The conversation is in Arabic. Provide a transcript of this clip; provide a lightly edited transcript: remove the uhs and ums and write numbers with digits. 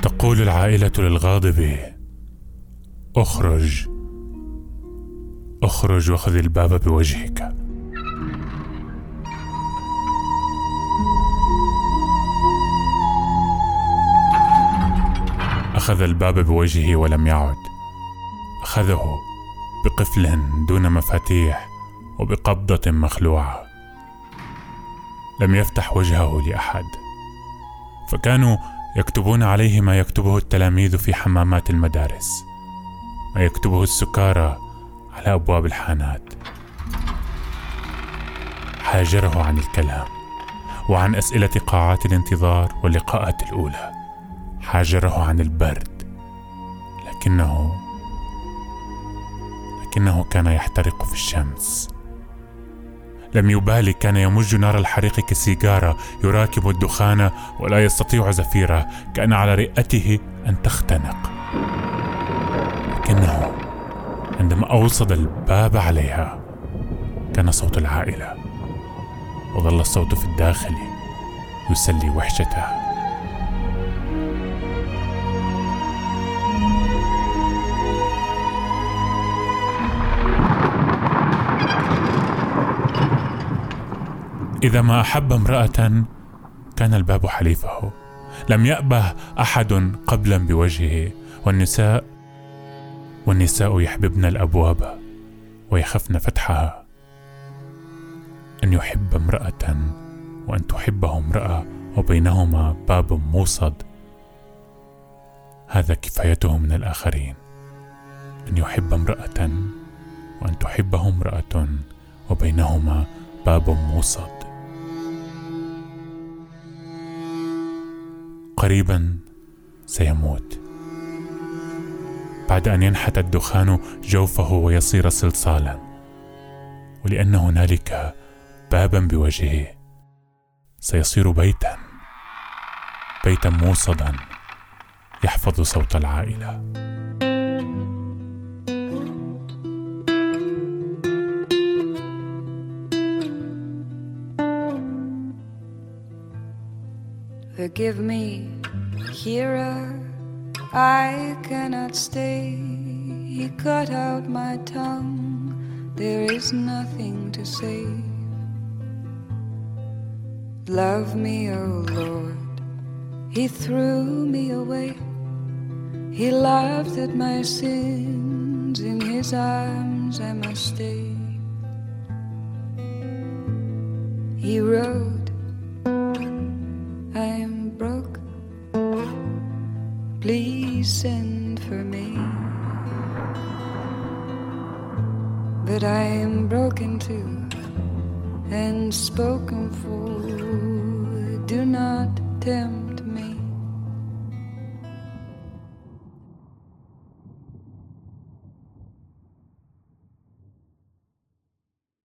تقول العائلة للغاضب: اخرج اخرج وخذ الباب بوجهك. أخذ الباب بوجهه ولم يعد. أخذه بقفل دون مفاتيح وبقبضة مخلوعة. لم يفتح وجهه لأحد، فكانوا يكتبون عليه ما يكتبه التلاميذ في حمامات المدارس، ما يكتبه السكارى على أبواب الحانات. حاجره عن الكلام وعن أسئلة قاعات الانتظار واللقاءات الأولى. حاجره عن البرد، لكنه كان يحترق في الشمس. لم يبالي، كان يمج نار الحريق كسيجارة، يراكب الدخان ولا يستطيع زفيره، كان على رئته أن تختنق. لكنه عندما أوصد الباب عليها كان صوت العائلة، وظل الصوت في الداخل يسلي وحشته. إذا ما أحب امرأة كان الباب حليفه. لم يأبه أحد قبلا بوجهه. والنساء يحببن الأبواب ويخفن فتحها. أن يحب امرأة وأن تحبه امرأة وبينهما باب موصد، هذا كفايته من الآخرين. أن يحب امرأة وأن تحبه امرأة وبينهما باب موصد. قريبا سيموت بعد أن ينحت الدخان جوفه ويصير صلصالا، ولأن هنالك بابا بوجهه سيصير بيتا موصدا يحفظ صوت العائلة. Forgive me, hearer, I cannot stay. He cut out my tongue, there is nothing to say. Love me, O Lord, He threw me away. He laughed at my sins, in His arms I must stay. He wrote, I am broke, please send for me. But I am broken too and spoken for. Do not tempt